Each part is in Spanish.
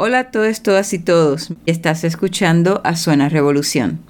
Hola a todos, todas y todos. Estás escuchando a Suena Revolución.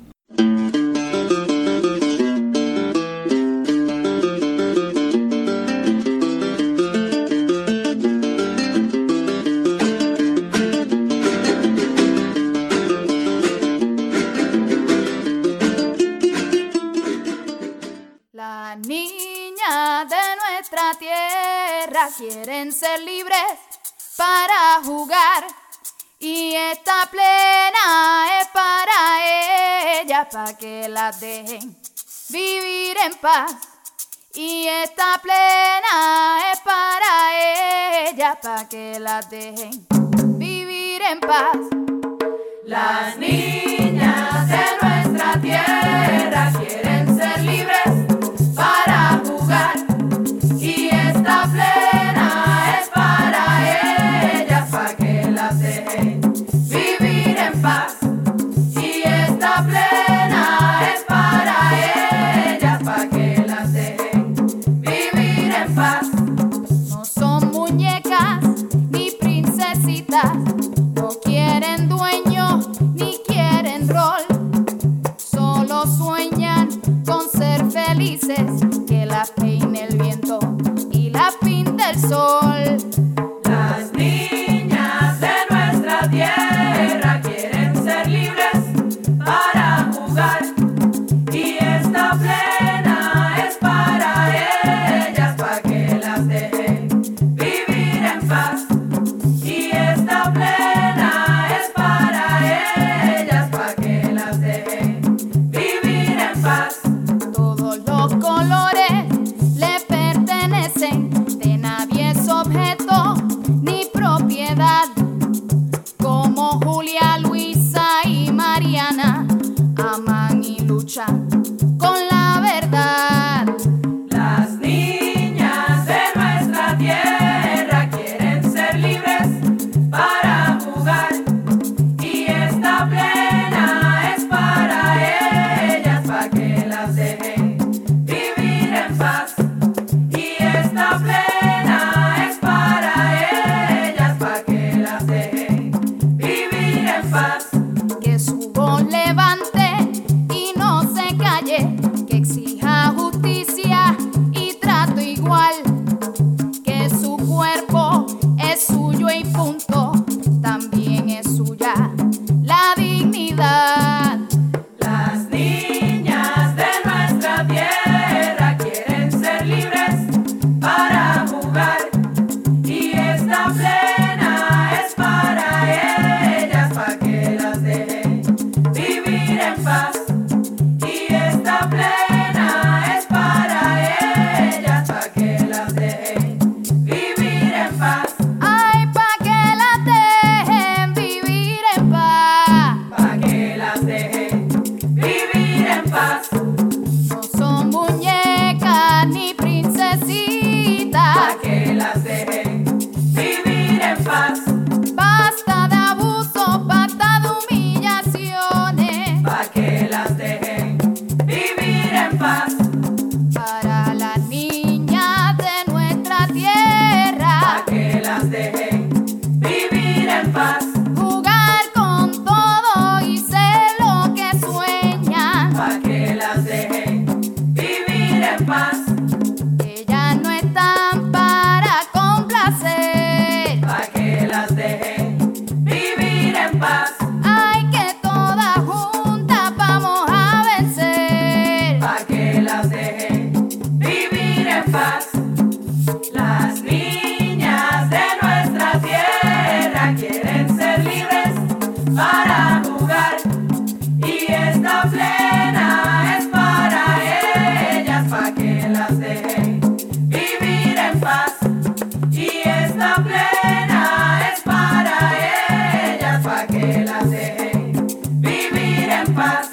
Las niñas de nuestra tierra quieren ser libres para jugar. Y esta plena es para ellas, para que las dejen vivir en paz. Y esta plena es para ellas, para que las dejen vivir en paz. Las niñas de nuestra tierra quieren ser libres para jugar. Y esta plena es para ellas, para que las dejen vivir en paz. Y esta plena es para ellas, para que las dejen vivir en paz. No son muñecas ni princesitas, no quieren dueño ni quieren rol. Solo sueñan con ser felices, que las peine el viento y las pinte el sol. Las niñas de nuestra tierra quieren ser libres para jugar. Y esta plena es para ellas, para que las dejen vivir en paz. Y esta plena es para ellas, para que las dejen vivir en paz. Todos los colores le pertenecen, de nadie es objeto ni propiedad. Como Julia, Luisa y Mariana aman y luchan con la verdad. Las niñas de nuestra tierra quieren ser libres para jugar. Y esta plena es para ellas, para que las dejen vivir en paz. Y esta plena es para ellas, para que las dejen vivir en paz. Que su voz levante y no se calle, que exija justicia y trato igual. Que su cuerpo es suyo y punto, también es suya la dignidad. Las niñas de nuestra tierra quieren ser libres para jugar. Y esta plena es para ellas, para que las dejen vivir en paz. Y esta plena es para ellas, para que las dejen vivir en paz. Ay, para que las dejen vivir en paz. Para que las dejen vivir en paz. No son muñecas ni princesitas, para que las dejen vivir en paz. Basta de abuso, basta de humillaciones, para que las dejen vivir en paz. Para las niñas de nuestra tierra, para que las dejen vivir en paz. Jugar con todo y ser lo que sueñan, para que las dejen vivir en paz. Ellas no están para complacer, para que las dejen vivir en paz. Ay, que todas juntas vamos a vencer, para que las dejen vivir en paz. Las niñas de nuestra tierra quieren ser libres para jugar. Y esta plena es para ellas, para que las dejen vivir en paz. Y esta plena es para ellas, para que las dejen vivir en paz.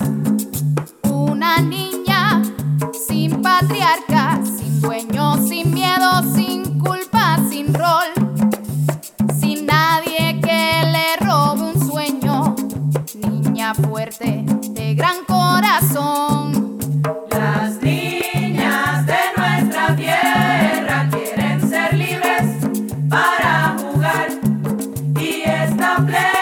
Una niña sin patriarca, sin dueño, sin miedo, sin culpa, sin rol. Sin nadie que le robe un sueño. Niña fuerte, de gran corazón. Las niñas de nuestra tierra quieren ser libres para jugar. Y esta plena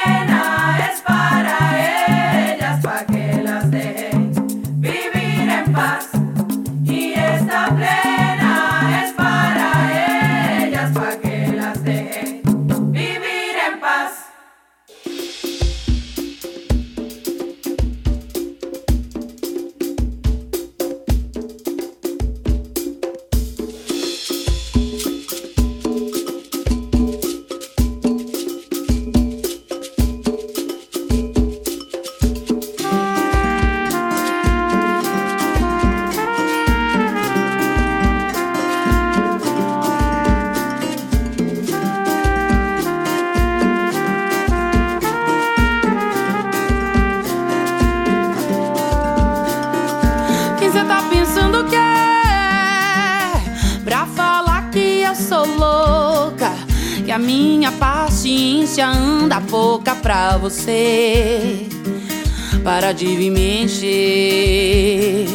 minha paciência anda pouca pra você. Para de vir me encher.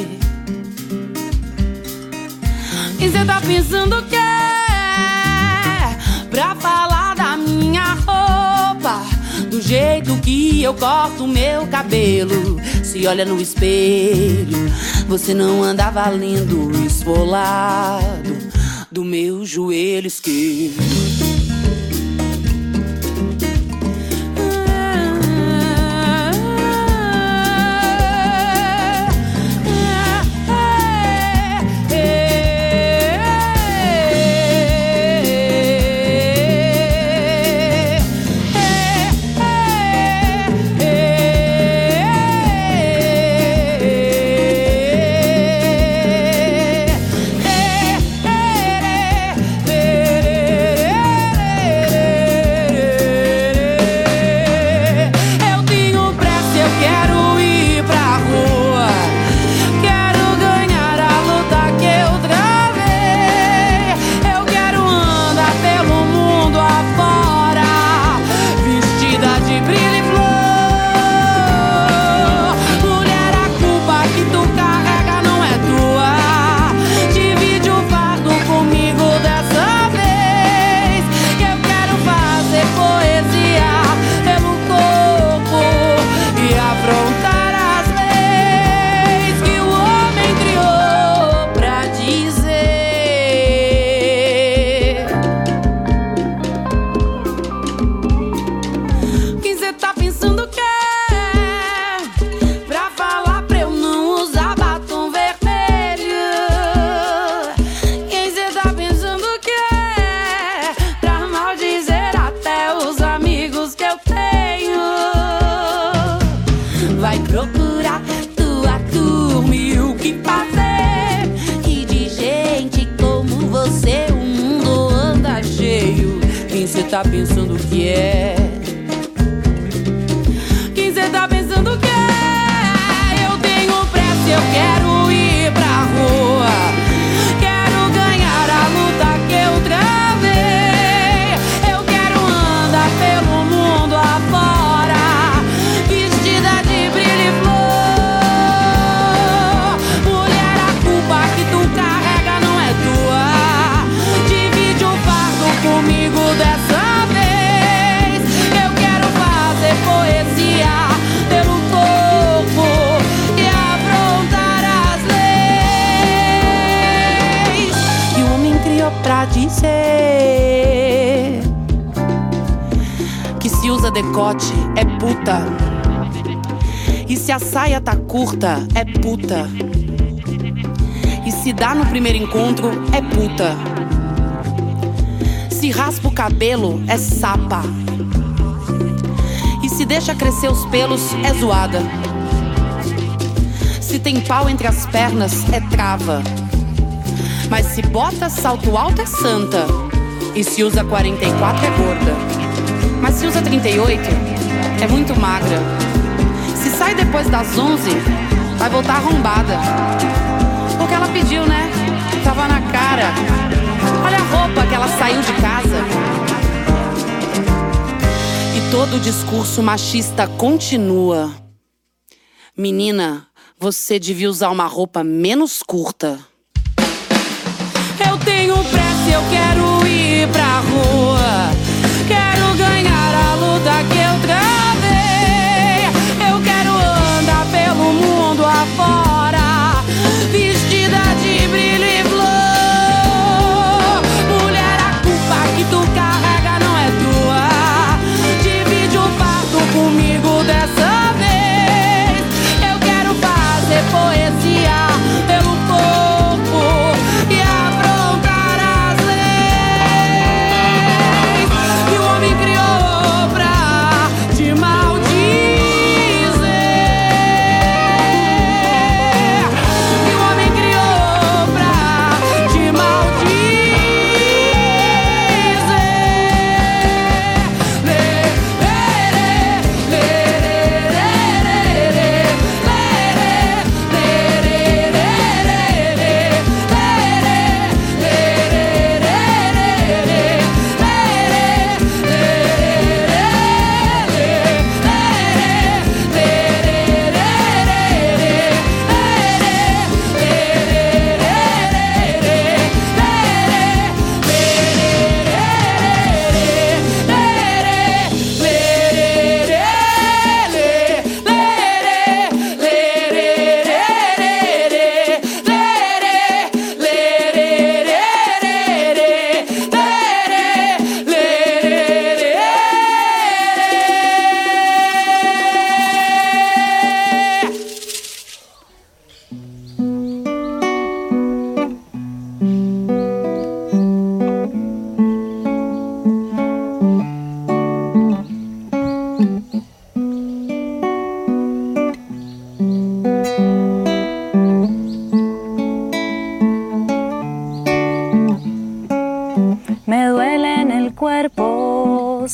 E cê tá pensando que é pra falar da minha roupa, do jeito que eu corto meu cabelo. Se olha no espelho, você não anda valendo esfolado do meu joelho esquerdo. Vai procurar tua turma e o que fazer. E de gente como você o mundo anda cheio. Quem cê tá pensando que é? Quem cê tá pensando que é? Eu tenho pressa, eu quero ir pra rua. Quero ganhar a luta que eu travei. Eu quero andar pelo mundo afora, vestida de brilho e flor. Mulher, a culpa que tu carrega não é tua. Divide o fardo comigo dessa vez. Eu quero fazer poesia pelo corpo e afrontar as leis que o homem criou pra dizer que se usa decote é puta, e se a saia tá curta é puta, e se dá no primeiro encontro é puta, se raspa o cabelo é sapa, e se deixa crescer os pelos é zoada, se tem pau entre as pernas é trava, mas se bota salto alto é santa, e se usa 44 é gorda, mas se usa 38 é muito magra. Se sai depois das 11 vai voltar arrombada, porque ela pediu, né? Tava na cara. Olha a roupa que ela saiu de casa. E todo o discurso machista continua. Menina, você devia usar uma roupa menos curta. Eu tenho pressa, eu quero ir pra rua. Quero ganhar a luta que eu travei. Eu quero andar pelo mundo afora, vestida de brilho e flor. Mulher, a culpa que tu carrega não é tua. Divide o fardo comigo dessa vez. Eu quero fazer poesia pelo corpo e afrontar as leis que o homem criou pra te maldizer. Que o homem criou pra te maldizer. Lê, lê, lê, lê.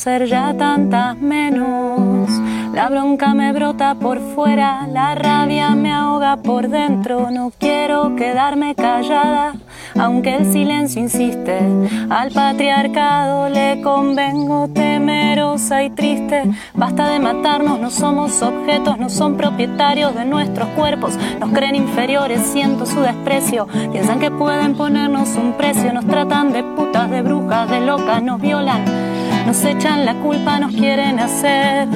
ser ya tantas menos. La bronca me brota por fuera, la rabia me ahoga por dentro. No quiero quedarme callada, aunque el silencio insiste. Al patriarcado le convengo, temerosa y triste. Basta de matarnos, no somos objetos, no son propietarios de nuestros cuerpos. Nos creen inferiores, siento su desprecio. Piensan que pueden ponernos un precio. Nos tratan de putas, de brujas, de locas, nos violan, nos echan la culpa, nos quieren hacer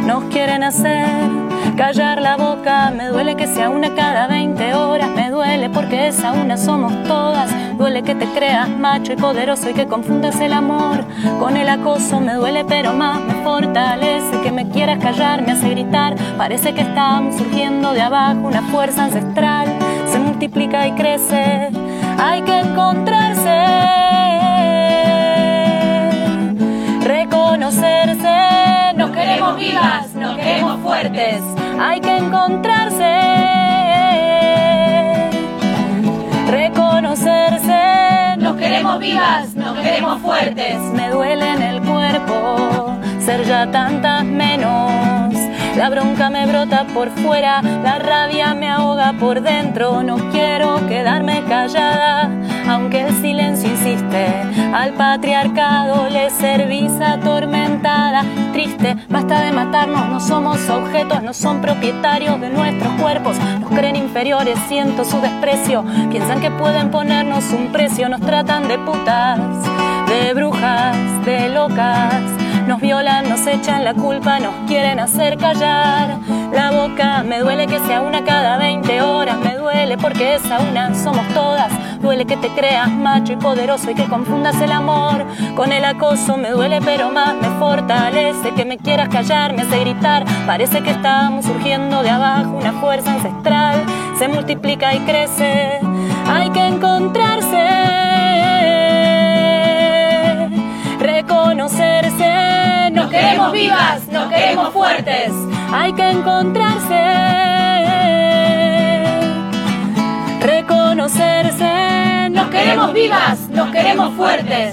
callar la boca. Me duele que sea una cada 20 horas, me duele porque esa una somos todas. Duele que te creas macho y poderoso y que confundas el amor con el acoso. Me duele pero más me fortalece que me quieras callar, me hace gritar. Parece que estamos surgiendo de abajo, una fuerza ancestral se multiplica y crece. Hay que encontrarse, reconocerse. Nos queremos vivas, nos queremos fuertes. Hay que encontrarse, reconocerse. Nos queremos vivas, nos queremos fuertes. Me duele en el cuerpo ser ya tantas menos. La bronca me brota por fuera, la rabia me ahoga por dentro. No quiero quedarme callada, aunque el silencio insiste. Al patriarcado le servís atormentada, triste. Basta de matarnos, no somos objetos, no son propietarios de nuestros cuerpos. Nos creen inferiores, siento su desprecio. Piensan que pueden ponernos un precio. Nos tratan de putas, de brujas, de locas. Nos violan, nos echan la culpa, nos quieren hacer callar la boca. Me duele que sea una cada 20 horas, me duele porque esa una somos todas. Duele que te creas macho y poderoso y que confundas el amor con el acoso. Me duele pero más me fortalece que me quieras callar, me hace gritar. Parece que estamos surgiendo de abajo, una fuerza ancestral se multiplica y crece. Hay que encontrarse, reconocerse. Nos queremos vivas, nos queremos fuertes. Hay que encontrarse, reconocerse. Nos queremos vivas, nos queremos fuertes.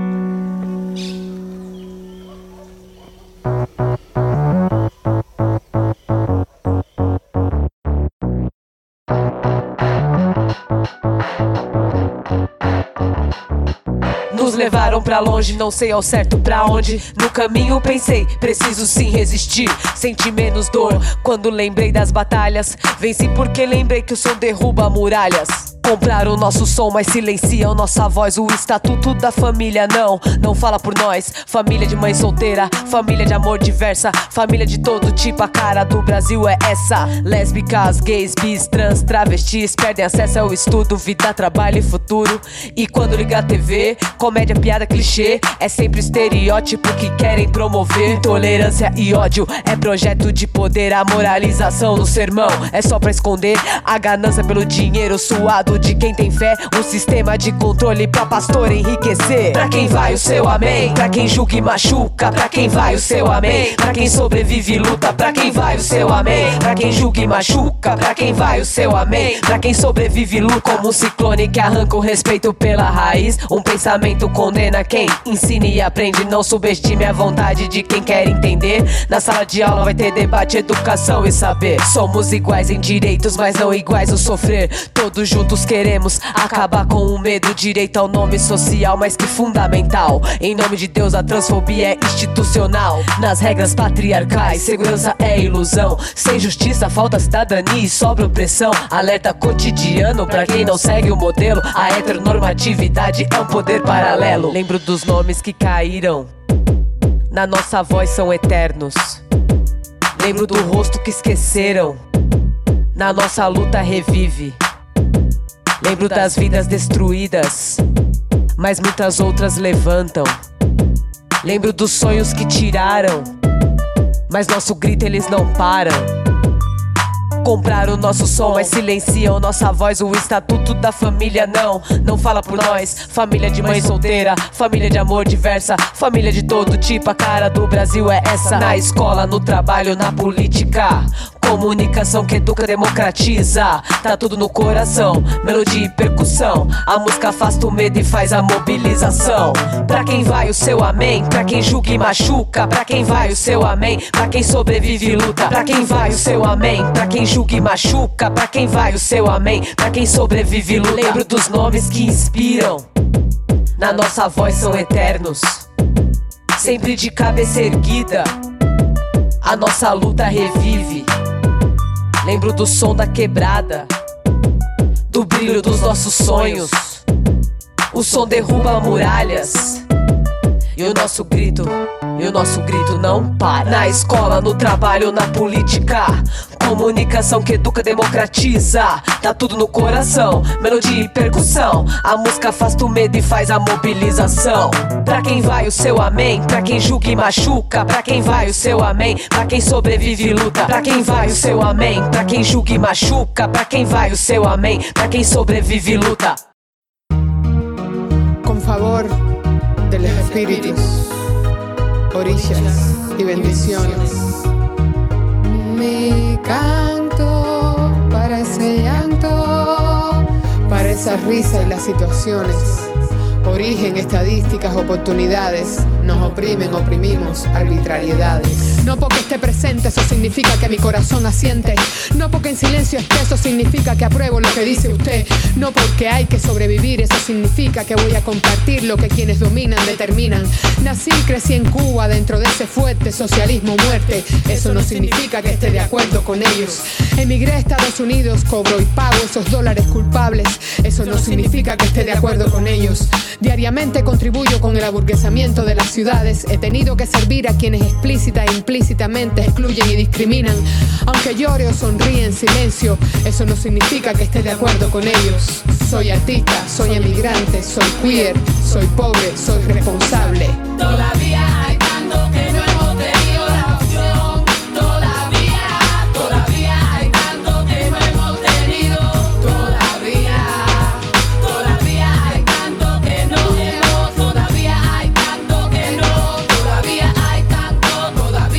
Nos levaram pra longe, não sei ao certo pra onde. No caminho pensei, preciso sim resistir. Senti menos dor quando lembrei das batalhas. Venci porque lembrei que o som derruba muralhas. Compraram o nosso som, mas silenciam nossa voz. O estatuto da família não fala por nós. Família de mãe solteira, família de amor diversa, família de todo tipo, a cara do Brasil é essa. Lésbicas, gays, bis, trans, travestis perdem acesso ao estudo, vida, trabalho e futuro. E quando liga a TV, comédia, piada, clichê, é sempre o estereótipo que querem promover. Intolerância e ódio é projeto de poder. A moralização no sermão é só pra esconder a ganância pelo dinheiro suado de quem tem fé, um sistema de controle pra pastor enriquecer. Pra quem vai o seu amém? Pra quem julga e machuca? Pra quem vai o seu amém? Pra quem sobrevive e luta? Pra quem vai o seu amém? Pra quem julga e machuca? Pra quem vai o seu amém? Pra quem sobrevive e luta? Como um ciclone que arranca o respeito pela raiz. Um pensamento condena quem ensina e aprende. Não subestime a vontade de quem quer entender. Na sala de aula vai ter debate, educação e saber. Somos iguais em direitos, mas não iguais no sofrer. Todos juntos queremos acabar com o medo. Direito ao nome social, mais que fundamental. Em nome de Deus, a transfobia é institucional. Nas regras patriarcais, segurança é ilusão. Sem justiça, falta cidadania e sobra opressão. Alerta cotidiano pra quem não segue o modelo. A heteronormatividade é um poder paralelo. Lembro dos nomes que caíram, na nossa voz são eternos. Lembro do rosto que esqueceram, na nossa luta revive. Lembro das vidas destruídas, mas muitas outras levantam. Lembro dos sonhos que tiraram, mas nosso grito eles não param. Compraram o nosso som, mas silenciam nossa voz. O estatuto da família não fala por nós. Família de mãe solteira, família de amor diversa, família de todo tipo, a cara do Brasil é essa. Na escola, no trabalho, na política, Comunicação que educa, democratiza. Tá tudo no coração, melodia e percussão. A música afasta o medo e faz a mobilização. Pra quem vai o seu amém, pra quem julga e machuca. Pra quem vai o seu amém, pra quem sobrevive e luta. Pra quem vai o seu amém, pra quem julga e machuca. Pra quem vai o seu amém, pra quem sobrevive e luta. Lembro dos nomes que inspiram, na nossa voz são eternos. Sempre de cabeça erguida, a nossa luta revive. Lembro do som da quebrada, do brilho dos nossos sonhos. O som derruba muralhas e o nosso grito não para. Na escola, no trabalho, na política. Comunicação que educa, democratiza. Tá tudo no coração, melodia e percussão. A música afasta o medo e faz a mobilização. Pra quem vai o seu amém, pra quem julga e machuca. Pra quem vai o seu amém, pra quem sobrevive e luta. Pra quem vai o seu amém, pra quem julga e machuca. Pra quem vai o seu amém, pra quem sobrevive e luta. Con favor de los espíritus, orillas y bendiciones. Mi canto para ese llanto, para esa risa y las situaciones. Origen, estadísticas, oportunidades. Nos oprimen, oprimimos, arbitrariedades. No porque esté presente, eso significa que mi corazón asiente. No porque en silencio esté, eso significa que apruebo lo que dice usted. No porque hay que sobrevivir, eso significa que voy a compartir lo que quienes dominan determinan. Nací y crecí en Cuba, dentro de ese fuerte socialismo muerte. Eso no significa que esté de acuerdo con ellos. Emigré a Estados Unidos, cobro y pago esos dólares culpables. Eso no significa que esté de acuerdo con ellos. Diariamente contribuyo con el aburguesamiento de las ciudades. He tenido que servir a quienes explícita e implícitamente excluyen y discriminan. Aunque llore o sonríe en silencio, eso no significa que esté de acuerdo con ellos. Soy artista, soy emigrante, soy queer, soy pobre, soy responsable. Todavía hay tanto que no hemos tenido la opción. Todavía hay tanto que no hemos tenido. Todavía hay tanto que no hemos. Todavía hay tanto que no. Todavía hay tanto,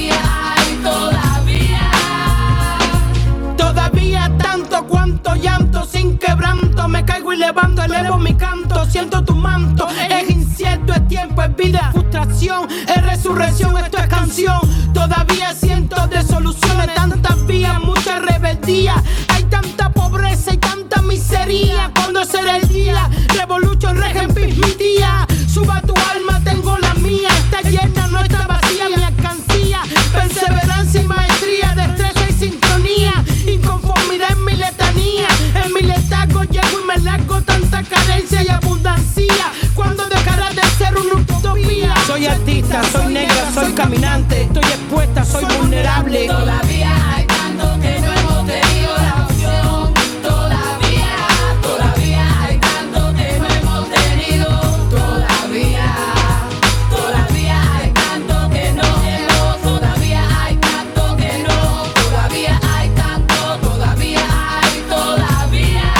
Todavía tanto cuanto llanto sin quebranto. Me caigo y levanto, elevo mi canto. Siento tu manto, es incierto, es tiempo, es vida, es frustración, es resurrección, esto es canción. Todavía cientos de soluciones, tantas vías, mucha rebeldía. Hay tanta pobreza y tanta miseria. ¿Cuándo será el día? Revolution, Regen, Peace, mi día. Suba tu alma, tengo la mía. Está llena, no está vacía, mi alcancía. Perseverancia y maestría, destreza y sincronía. Inconformidad en mi letanía. En mi letargo llego y me largo, tanta carencia y abundancia. ¿Cuándo dejará de ser una utopía? Soy artista, soy negra, soy caminante. Estoy expuesta, soy vulnerable. Todavía hay tanto que no hemos tenido la opción. Todavía hay tanto que no hemos tenido. Todavía hay tanto que no hemos. Todavía hay tanto que no. Todavía hay tanto, todavía.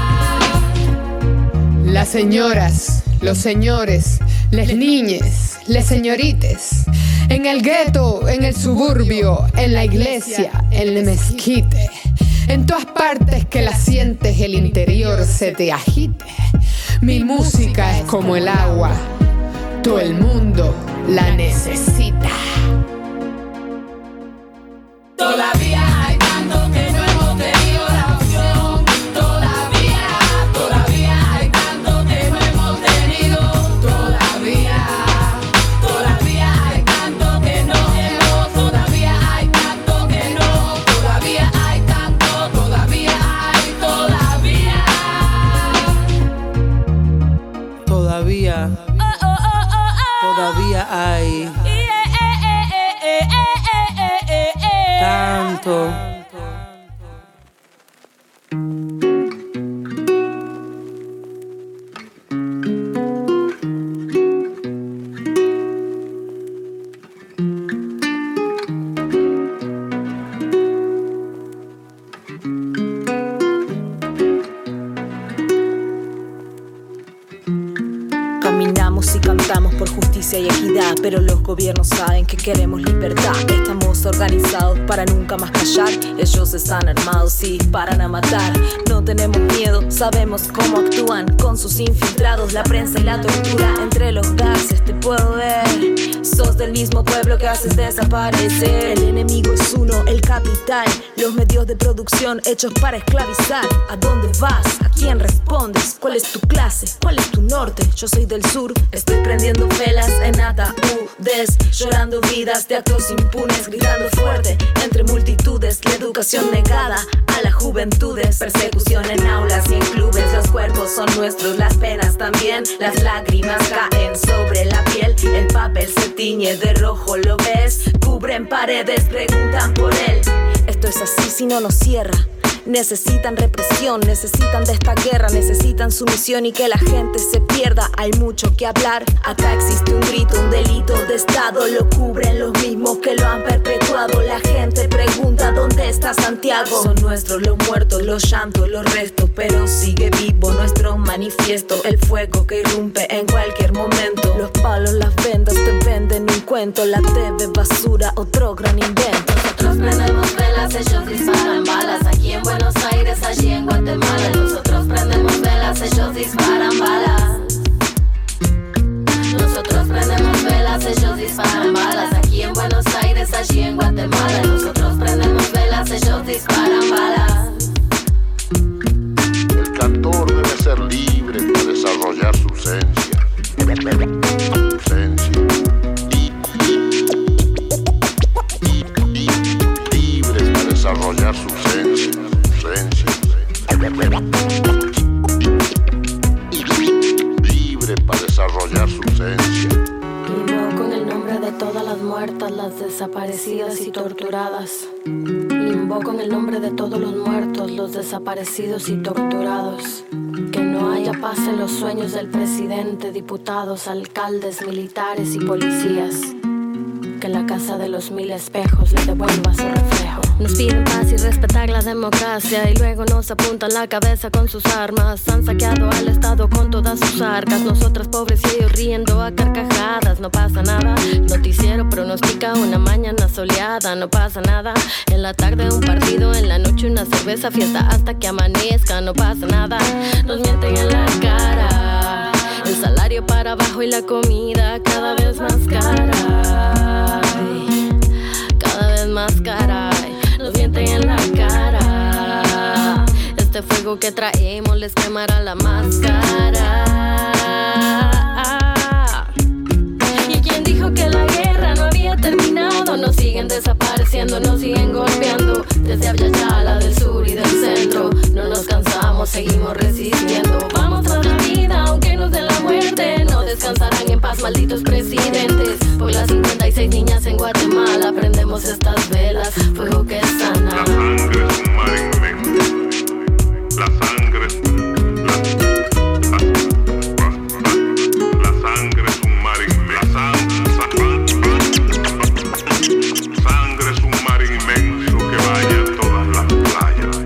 Las señoras, los señores, les niñes, les señorites. En el gueto, en el suburbio, en la iglesia, en el mezquite. En todas partes que la sientes, el interior se te agite. Mi música es como el agua, todo el mundo la necesita. Todavía hay tanto que no hemos tenido la opción. Todavía hay tanto que no hemos tenido. Todavía hay tanto que no hemos. Todavía hay tanto que no. Todavía hay tanto, todavía. Todavía hay tanto. Caminamos y cantamos por justicia y equidad, pero los gobiernos saben que queremos libertad. Estamos organizados para nunca más callar. Ellos están armados y disparan a matar. No tenemos miedo, sabemos cómo actúan con sus infiltrados, la prensa y la tortura. Entre los gases te puedo ver. Sos del mismo pueblo que haces desaparecer. El enemigo es uno, el capital. Los medios de producción hechos para esclavizar. ¿A dónde vas? ¿A quién respondes? ¿Cuál es tu clase? ¿Cuál es tu norte? Yo soy del sur, estoy prendiendo velas en ataúdes, llorando vidas de actos impunes, gritando fuerte entre multitudes. La educación negada a las juventudes, persecución en aulas y en clubes. Los cuerpos son nuestros, las penas también. Las lágrimas caen sobre la piel, el papel se tiñe de rojo, ¿lo ves? Cubren paredes, preguntan por él. Esto es así si no nos cierra. Necesitan represión, necesitan de esta guerra, necesitan sumisión y que la gente se pierda. Hay mucho que hablar, acá existe un grito, un delito de estado. Lo cubren los mismos que lo han perpetuado. La gente pregunta ¿dónde está Santiago? Son nuestros los muertos, los llantos, los restos, pero sigue vivo nuestro manifiesto. El fuego que irrumpe en cualquier momento. Los palos, las vendas te venden un cuento. La TV basura, otro gran invento. Nosotros prendemos velas, ellos disparan balas. Aquí en Buenos Aires, allí en Guatemala. Nosotros prendemos velas, ellos disparan balas. Nosotros prendemos velas, ellos disparan balas. Aquí en Buenos Aires, allí en Guatemala. Nosotros prendemos velas, ellos disparan balas. El cantor debe ser libre para desarrollar su esencia. Libre para desarrollar su esencia. Libre para desarrollar su esencia. Invoco en el nombre de todas las muertas, las desaparecidas y torturadas. Invoco en el nombre de todos los muertos, los desaparecidos y torturados. Que no haya paz en los sueños del presidente, diputados, alcaldes, militares y policías. Que la casa de los 1000 espejos le devuelva su reflejo. Nos piden paz y respetar la democracia y luego nos apuntan la cabeza con sus armas. Han saqueado al Estado con todas sus arcas. Nosotras pobres y ellos riendo a carcajadas. No pasa nada, noticiero pronostica una mañana soleada. No pasa nada, en la tarde un partido, en la noche una cerveza, fiesta hasta que amanezca. No pasa nada, nos mienten en la cara. El salario para abajo y la comida cada vez más cara. Cada vez más cara. Nos mienten en la cara. Este fuego que traemos les quemará la máscara. ¿Y quién dijo que la guerra no había terminado? Nos siguen desapareciendo, nos siguen golpeando. Desde Abyayala, del sur y del centro. No nos cansamos, seguimos resistiendo. Vamos tras la vida, aunque nos den la muerte. No descansarán en paz, malditos presidentes. Por las 56 niñas en Guatemala prendemos estas velas, fuego que sana. La sangre es un mar inmenso. La sangre es un mar inmenso. Sangre es un mar inmenso que vaya a todas las playas.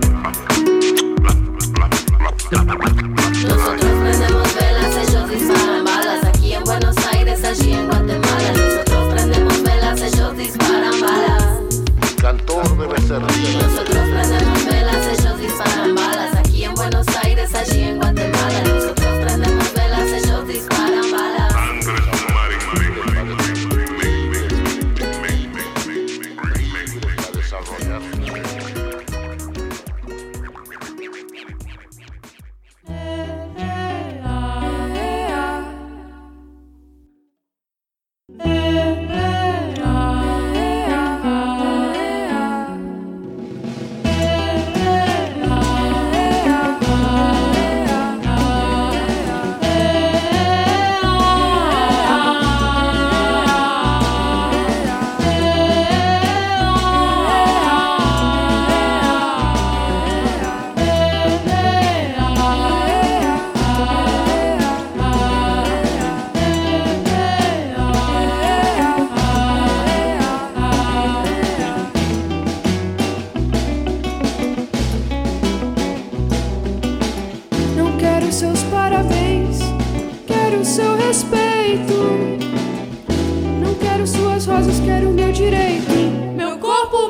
Nosotros prendemos velas, ellos disparan balas. Aquí en Buenos Aires, allí en Guatemala. Nosotros prendemos velas, ellos disparan balas. El cantor debe ser libre. Nosotros prendemos velas, ellos disparan balas. Aquí en Buenos Aires, allí en Guatemala. Nosotros prendemos velas, ellos disparan balas. Sangre es un mar inmenso. Para desarrollar su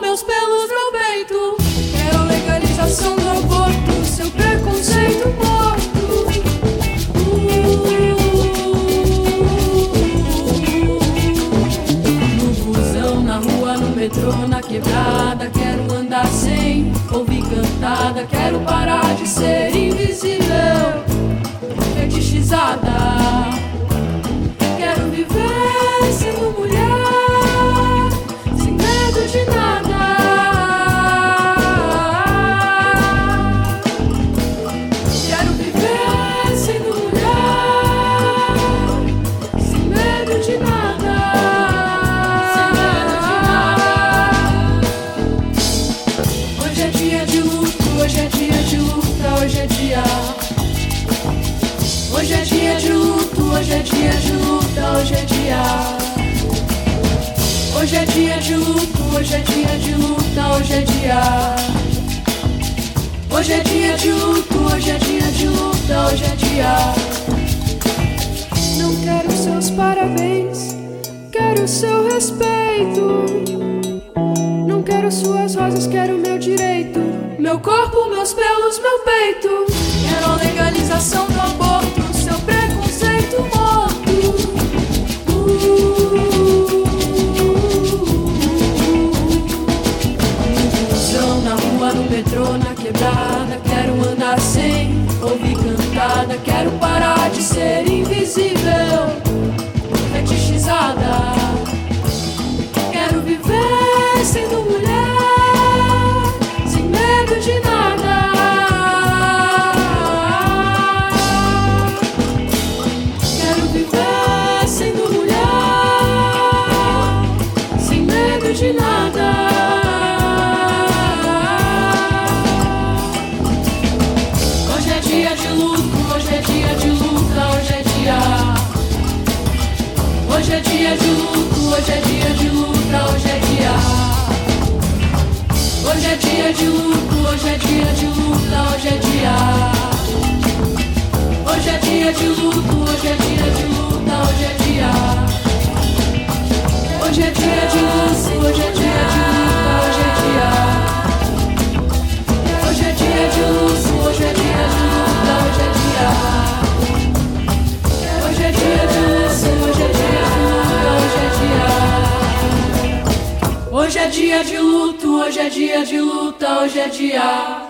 meus pelos, meu peito. Quero legalização do aborto, seu preconceito morto. No busão, na rua, no metrô, na quebrada, quero andar sem ouvir cantada. Quero parar de ser invisível, fetichizada. Quero viver sendo mulher, sem medo de nada. Quero viver sendo mulher, sem medo de nada. Sem medo de nada. Hoje é dia de luto, hoje é dia de luta, hoje é dia. Hoje é dia de luto, hoje é dia de luta, hoje é dia. Hoje é dia de luto, hoje é dia de luta, hoje é dia. Hoje é dia de luto, hoje é dia de luta, hoje é dia. Não quero seus parabéns, quero seu respeito. Não quero suas rosas, quero meu direito. Meu corpo, meus pelos, meu peito. Quero a legalização do aborto, seu preconceito morto. No busão, na rua, no metrô, na quebrada, quero andar sem ouvir cantada. Quero parar de ser invisível, fetichizada. Quero viver sendo mulher, sem medo de nada. Quero viver sendo mulher, sem medo de nada. Hoje é dia de luto, hoje é dia de luta, hoje é dia. Hoje é dia de luto, hoje é dia de luta, hoje é dia. Hoje é dia de luto, hoje é dia de luta, hoje é dia. Hoje é dia de luto, hoje é dia de luta, hoje é dia. Hoje é dia de luto, hoje é dia de luta, hoje é dia. Hoje é dia de luto, hoje é dia de luta, hoje é dia. Hoje é dia de luto, hoje é dia de luta, hoje é dia. Hoje é dia de luto, hoje é dia de luta, hoje é dia.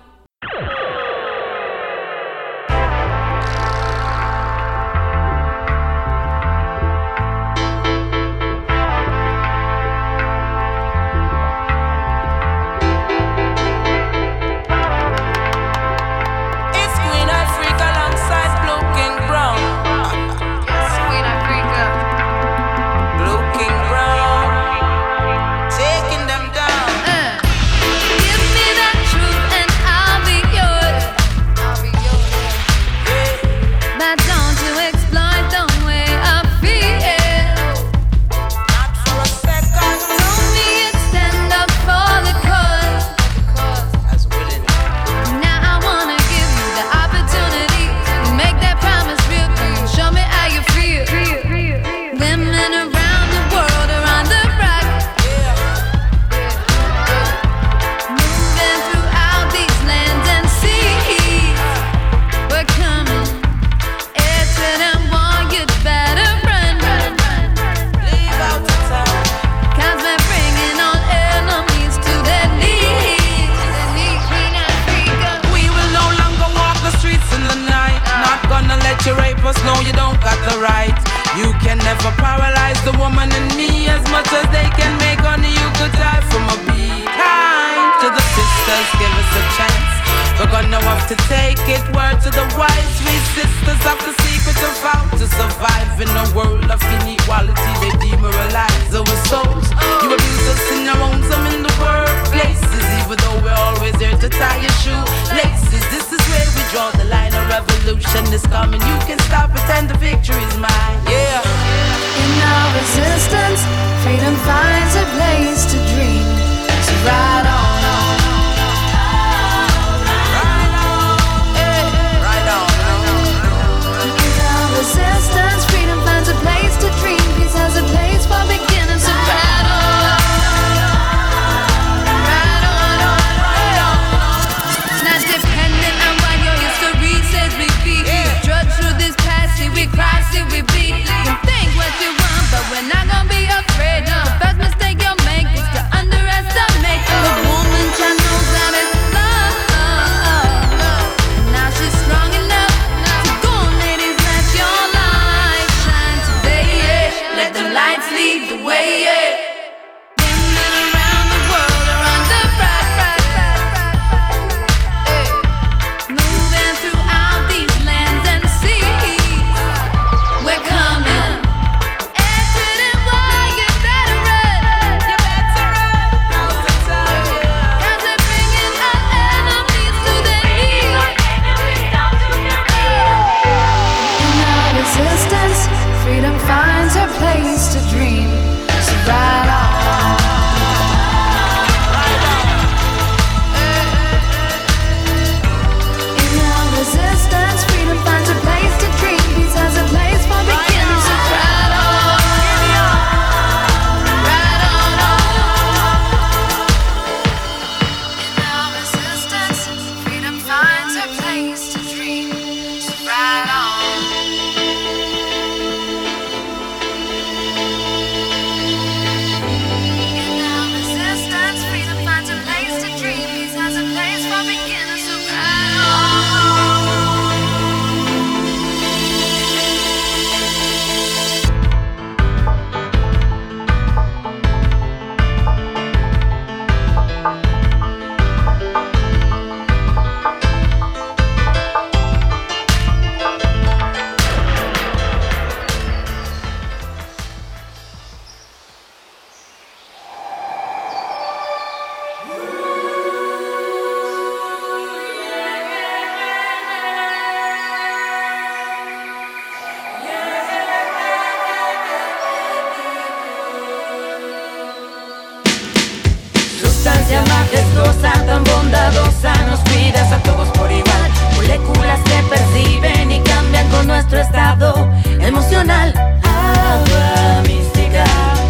Freedom finds a place to dream. So ride on. a place to dream. Peace has a place for beginners to battle. gracia majestuosa, tan bondadosa, nos cuidas a todos por igual. Moléculas que perciben y cambian con nuestro estado emocional. Agua mística,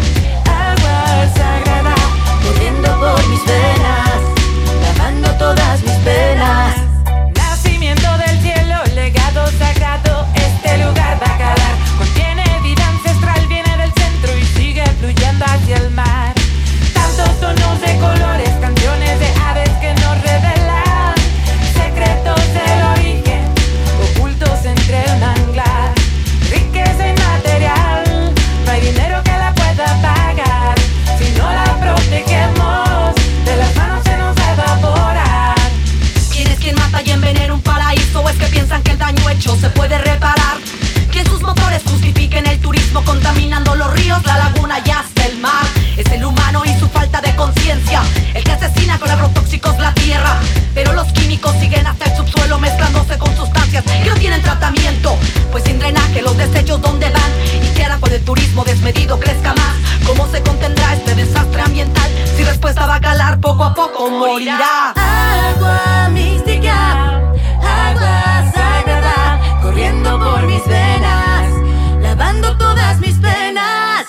agua sagrada, corriendo por mis venas, lavando todas mis penas. Nacimiento del cielo, legado sagrado, este lugar va a calar. Contiene vida ancestral, viene del centro y sigue fluyendo hacia el mar. Tantos tonos de colores, canciones de aves que nos revelan secretos del origen, ocultos entre un manglar. Riqueza inmaterial, no hay dinero que la pueda pagar. Si no la protegemos, de las manos se nos va a evaporar. ¿Quién es quien mata y envenena un paraíso? ¿O es que piensan que el daño hecho se puede reparar? Que sus motores justifiquen el turismo, contaminando los ríos, la laguna y hasta el mar. Es el humano y su falta de conciencia el que asesina con agrotóxicos la tierra. Pero los químicos siguen hasta el subsuelo, mezclándose con sustancias que no tienen tratamiento. Pues sin drenaje los desechos ¿dónde van? ¿Y qué hará cuando el turismo desmedido crezca más? ¿Cómo se contendrá este desastre ambiental? Si respuesta va a calar, poco a poco morirá. Agua mística, agua sagrada, corriendo por mis venas, lavando todas mis penas.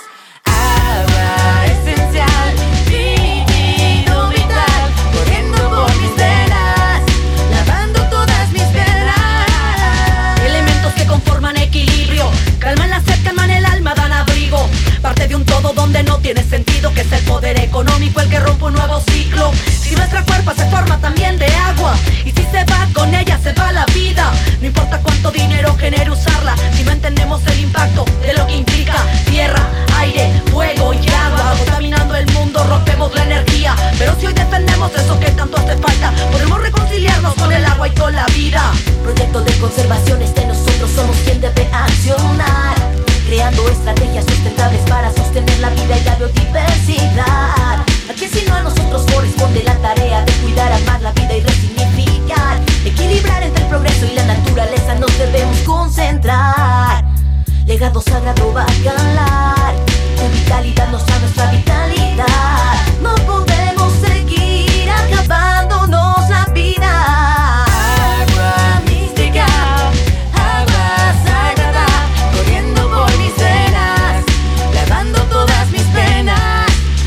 Agua esencial, líquido vital, corriendo por mis venas, lavando todas mis penas. Elementos que conforman equilibrio, calman la sed, calman el alma, dan abrigo. Parte de un todo donde no tiene sentido, que es el poder económico el que rompe un nuevo ciclo. Si nuestra cuerpo se forma también de agua, y si se va con ella se va la vida. No importa cuánto dinero genere usarla, si no entendemos el impacto de lo que implica. Tierra, aire, fuego y agua, contaminando el mundo, rompemos la energía. Pero si hoy defendemos eso que tanto hace falta, podemos reconciliarnos con el agua y con la vida. Proyecto de conservación es de nosotros, somos quien debe accionar, creando estrategias sustentables para sostener la vida y la biodiversidad. Aquí si no a nosotros corresponde la tarea de cuidar, amar la vida y resignificar, equilibrar entre el progreso y la naturaleza nos debemos concentrar. Legado sagrado va a calar, tu vitalidad nos da nuestra vitalidad. No podemos seguir acabándonos la vida. Agua mística, agua sagrada, corriendo por mis venas, lavando todas mis penas.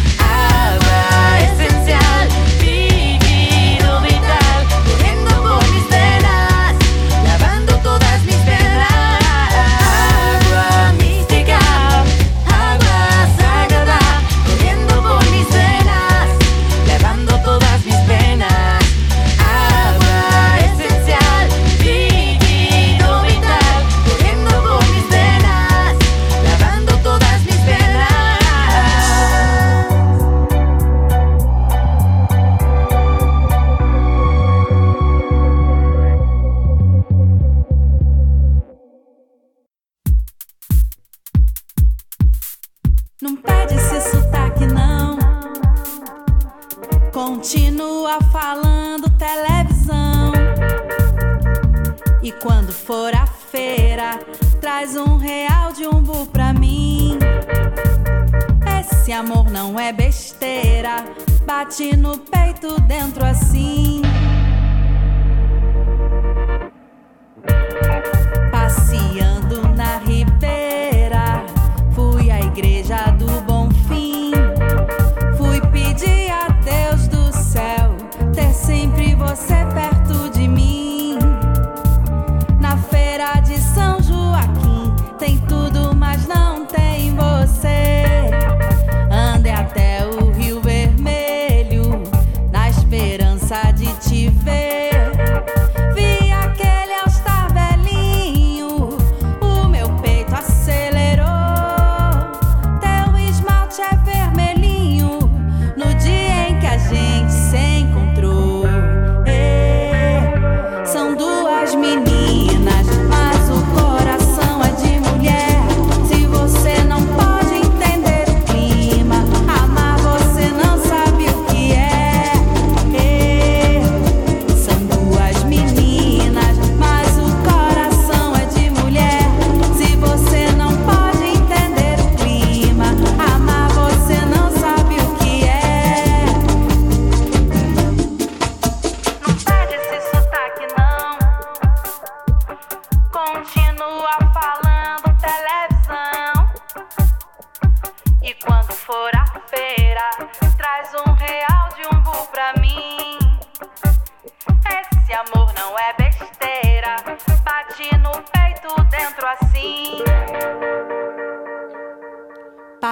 Agua esencial, líquido vital, corriendo por mis venas, lavando todas mis penas. Agua mística, agua sagrada, corriendo por mis venas, lavando todas mis penas. Agua esencial, líquido vital, corriendo por mis venas, lavando todas mis penas. Não perde esse sotaque não, continua falando televisão. E quando for à feira, traz R$1 de umbu pra mim. Esse amor não é besteira, bate no peito dentro assim. Passeando na ribeira, fui à igreja do Bonfim. Fui pedir a Deus do céu ter sempre você perto de mim. Na feira de São Joaquim tem tudo, mas não tem você. Andei até o Rio Vermelho na esperança de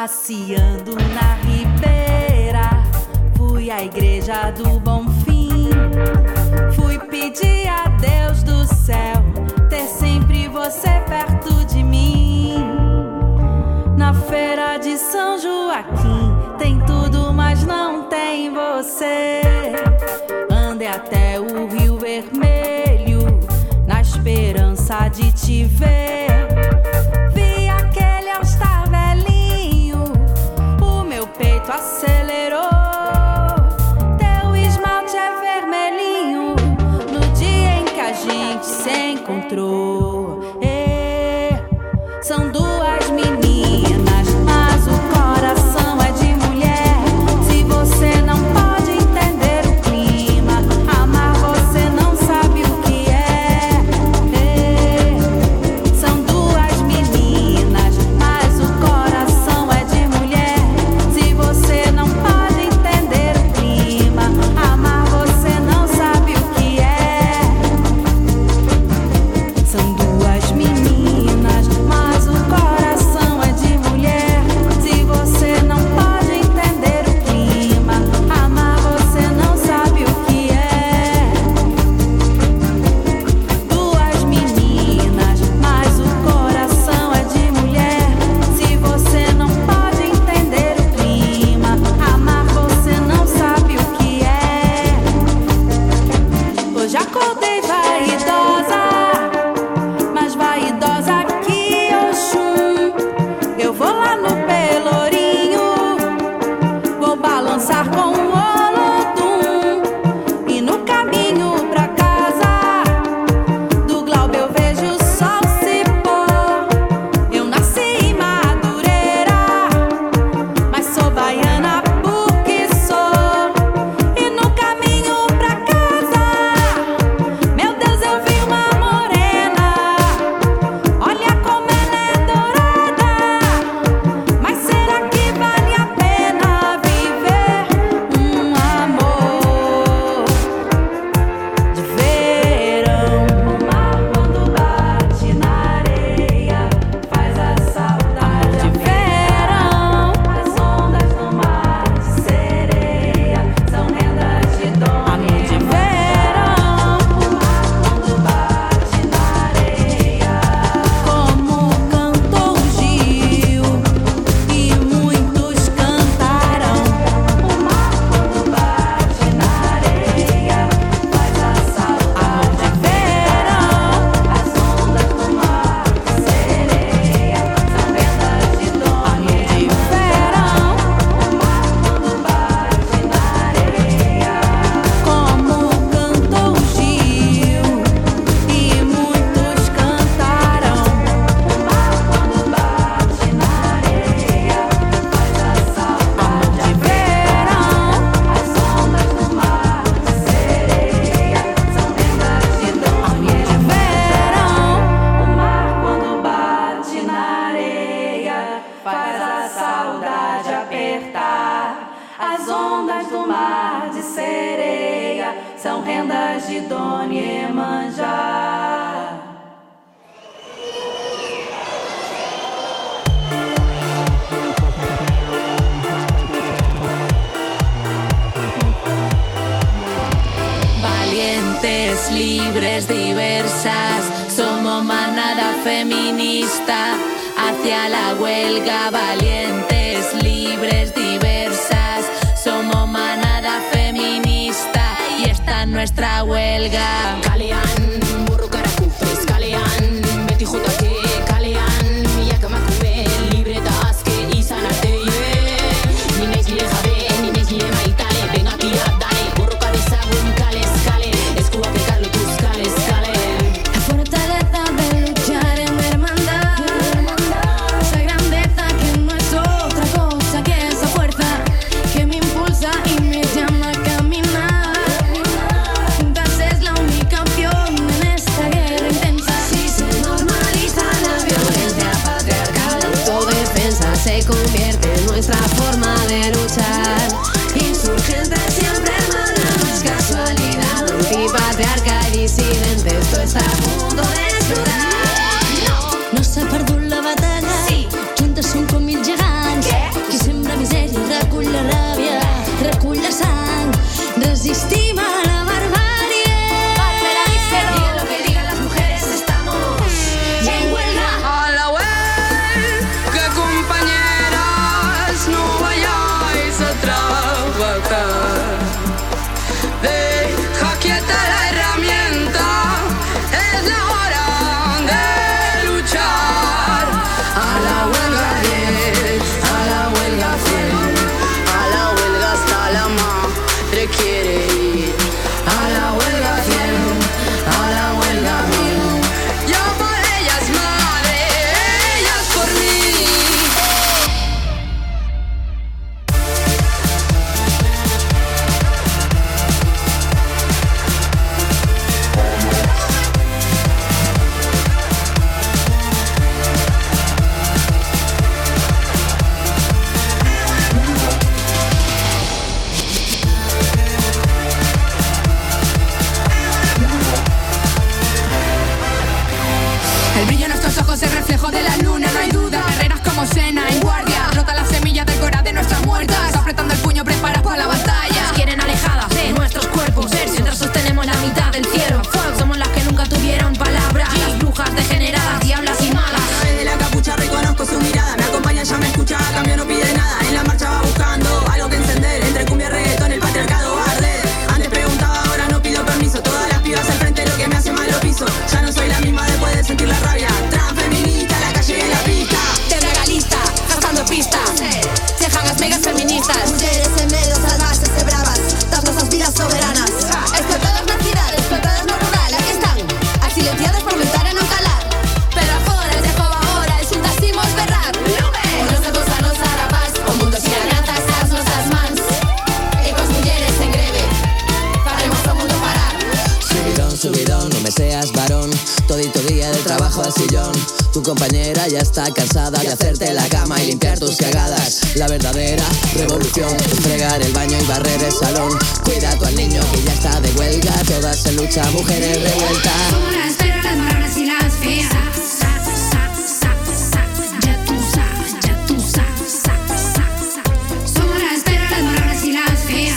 Passeando na ribeira, fui à igreja do Bonfim. Fui pedir a Deus do céu ter sempre você perto de mim. Na feira de São Joaquim tem tudo, mas não tem você. Andei até o Rio Vermelho na esperança de te ver. Vi aquele all-star velhinho, o meu peito acelerou. Teu esmalte é vermelhinho no dia em que a gente se encontrou. São duas meninas, mas o coração é de mulher. Se você não pode entender o clima, amar você não sabe o que é. São duas meninas, mas o coração é de mulher. Se você não pode entender o clima, amar você não sabe o que é. São duas meninas, mas o coração é de mulher. Se você não pode entender o clima, amar você não sabe o que é. Duas meninas, mas o coração é de mulher. Se você não pode entender o clima, amar você não sabe o que é. Hoje acordei vaidosa, mais vaidosa que Oxum. Eu vou lá no Pelourinho, vou balançar com o Olodum. E no caminho pra casa do Glauber eu vejo o sol se pôr. Eu nasci em Madureira, mas sou baiana porque sou. E no caminho pra casa, meu Deus, eu vi uma morena. Olha como ela é dourada. Mas será que vale a pena viver um amor de verão? O mar quando bate na areia faz a saudade de verão. As ondas do mar de sereia são rendas de dona de verão. O mar quando bate na areia, como cantou Gil e muitos cantaram. O mar quando bate na areia faz a saudade de verão. As ondas do mar de sereia são rendas de dona de verão. O mar quando bate na areia, como cantou Gil e muitos cantaram. O mar quando bate na areia faz a saudade de verão. As ondas do mar de sereia são rendas de dona de verão. O mar quando bate na areia faz a saudade apertar. As ondas do mar de sereia são rendas de Dona Iemanjá. Valientes, libres, diversas, somos manada feminista hacia la huelga. Valientes, libres, diversas, somos manada feminista y esta es nuestra huelga. Kalean, burro karakupes, kalean, beti jutake, kalean, milaka emakume, libre eta azke izan arte, ni naiz nire jabe, ni naiz nire maitale, bengakia dale, borroka dezagun kalez kale, eskuak elkarlotuz kalez kale. La fortaleza de luchar en hermandad, esa grandeza que no es otra cosa que esa fuerza que me impulsa y me llama a caminar. Juntas es la única opción en esta guerra intensa. Si se normaliza la violencia patriarcal, la autodefensa se convierte en nuestra forma de luchar. Insurgente siempre hermana, no es casualidad, antipatriarca y disidente, esto está a punto de explotar. No s'ha perdut la batalla, Sí. juntes som com mil gegants. Què? ojos el reflejo de la luna, no hay duda. Guerreras como Senna en guardia, rota la semilla del cora de nuestras muertas. Apretando el puño, preparas para la batalla. Nos quieren alejadas de nuestros cuerpos, mientras sostenemos la mitad del cielo. Somos las que nunca tuvieron palabra, las brujas degeneradas, diablas y malas. A través de la capucha reconozco su mirada. Me acompaña, ya me escucha, a cambio no pide nada. En la marcha va buscando algo que encender. Entre cumbia y reggaetón el patriarcado va a arder. Antes preguntaba, ahora no pido permiso. Todas las pibas al frente, lo que me hace mal lo piso. Ya no soy la misma después de sentir la rabia. Transfeminista, la calle y la pista. Legalista, cazando pistas. Cejan las megas feministas. Mujeres en medio salvajes y bravas, dando esas vidas soberanas. Explotadas na cidade, explotadas no rural. Aquí están, as silenciadas por lutar e non calar. Pero agora, de joven agora, xuntasimos berrar. O nos demos a nosa rapaz, o mundo sin alianzas as nosas mans. E cos mulleres en greve, faremos o mundo parar. Subidón, subidón, no me seas varón. Todito día de trabajo al sillón. Tu compañera ya está cansada de hacerte la cama y limpiar tus cagadas. La verdadera revolución es fregar el baño y barrer el salón. Cuida a tu al niño que ya está de huelga. Todas en lucha, mujeres revueltas. Somos las perras, las marronas y las feas. Ya tú sabes, ya tú sabes. Somos las perras, las marronas y las feas.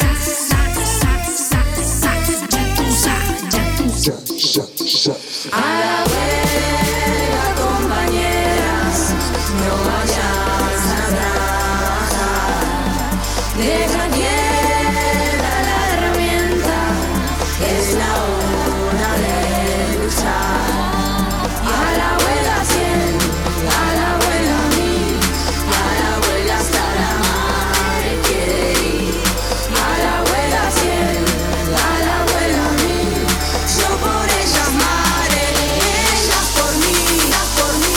Ya tú sabes, ya tú sabes. A la huelga, compañeras, no vayas a trabajar. Deja quieta la herramienta, es la hora de luchar. A la huelga 100, a la huelga 1000, a la huelga hasta la madre quiere ir. A la huelga 100, a la huelga 1000, yo por ellas madre, ellas por mí, ellas por mí.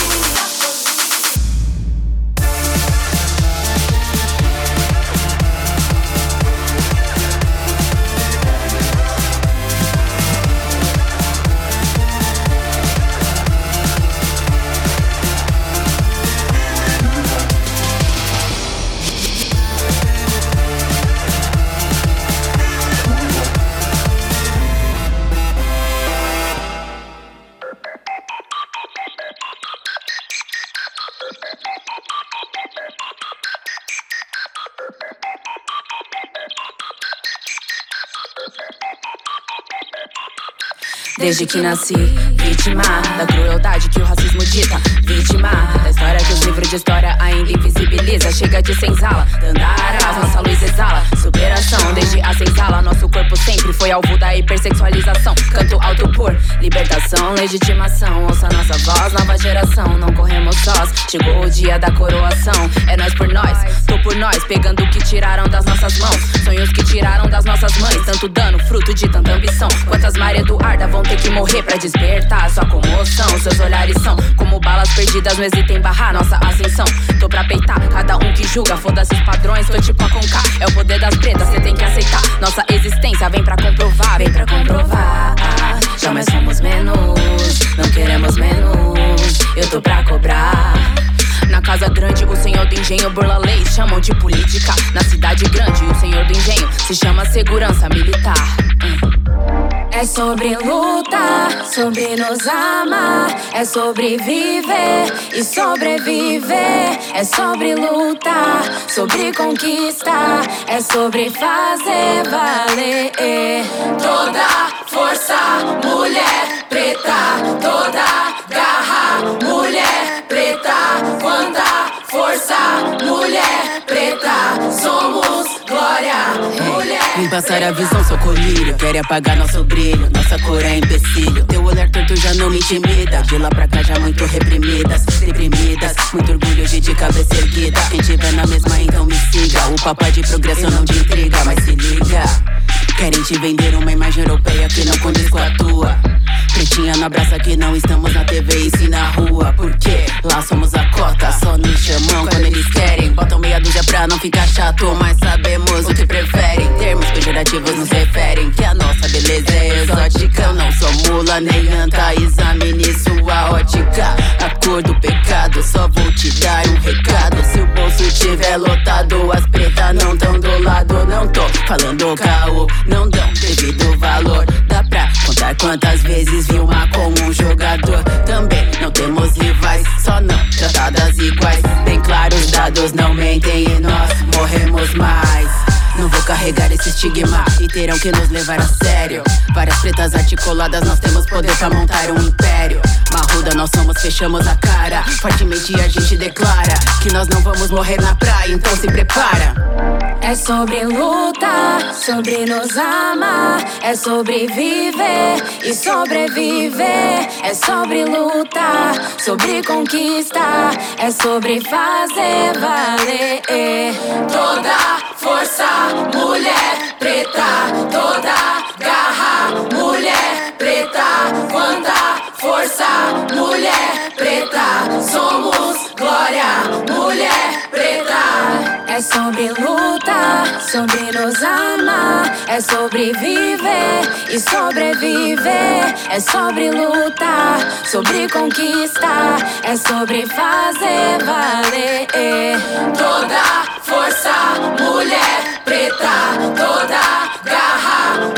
Desde que nasci, vítima da crueldade que o racismo dita. Vítima da história que os livros de história ainda invisibiliza. Chega de senzala, Dandara, nossa luz exala. Superação, desde a senzala, nosso corpo sempre foi alvo da hipersexualização. Canto alto por libertação, legitimação. Ouça nossa voz, nova geração, não corremos sós. Chegou o dia da coroação, é nós por nós, tô por nós. Pegando o que tiraram das nossas mãos, sonhos que tiraram das nossas mães. Tanto dano, fruto de tanta ambição. Quantas Maria Eduarda vão ter que morrer pra despertar sua comoção. Seus olhares são como balas perdidas, não hesita em barrar nossa ascensão. Tô pra peitar cada um que julga, foda-se os padrões, tô tipo a Conká. É o poder das pretas, cê tem que aceitar. Nossa existência vem pra comprovar, vem pra comprovar. Jamais somos menos, não queremos menos. Eu tô pra cobrar. Na casa grande, o senhor do engenho burla leis, chamam de política. Na cidade grande, o senhor do engenho se chama segurança militar. É sobre lutar, sobre nos amar. É sobre viver e sobreviver. É sobre lutar, sobre conquistar. É sobre fazer valer. Toda força, mulher preta. Toda garra, mulher preta. Quanta força, mulher preta. Somos glória, mulher. Vem passar a visão, sou colírio. Quer apagar nosso brilho, nossa cor é empecilho. Teu olhar torto já não me intimida. De lá pra cá já muito reprimidas, deprimidas. Muito orgulho de cabeça erguida. Quem tiver na mesma então me siga. O papai de progresso não de intriga, mas se liga. Querem te vender uma imagem europeia que não condiz com a tua. Pretinha no abraça que não estamos na TV e sim na rua. Porque lá somos a cota, só nos chamam quando eles querem. Botam meia dúzia pra não ficar chato, mas sabemos o que preferem. Termos pejorativos nos referem que a nossa beleza é exótica. Eu não sou mula nem anta, examine sua ótica. A cor do pecado, só vou te dar um recado. Se o bolso tiver lotado, as pretas não tão do lado. Não tô falando caô, não dão devido valor. Dá pra contar pensar quantas vezes vi uma como um jogador. Também não temos rivais, só não tratadas iguais. Bem claro, os dados não mentem e nós morremos mais. Não vou carregar esse estigma e terão que nos levar a sério. Várias pretas articuladas, nós temos poder pra montar um império. Marruda nós somos, fechamos a cara. Fortemente a gente declara que nós não vamos morrer na praia, então se prepara. É sobre luta, sobre nos amar. É sobre viver e sobreviver. É sobre lutar, sobre conquistar. É sobre fazer valer. Toda força, mulher preta. Toda garra, mulher preta. Quanta força, mulher preta. Somos glória, mulher preta. É sobre luta, sobre nos amar. É sobre viver e sobreviver. É sobre lutar, sobre conquistar. É sobre fazer valer. Toda força, mulher preta. Toda garra,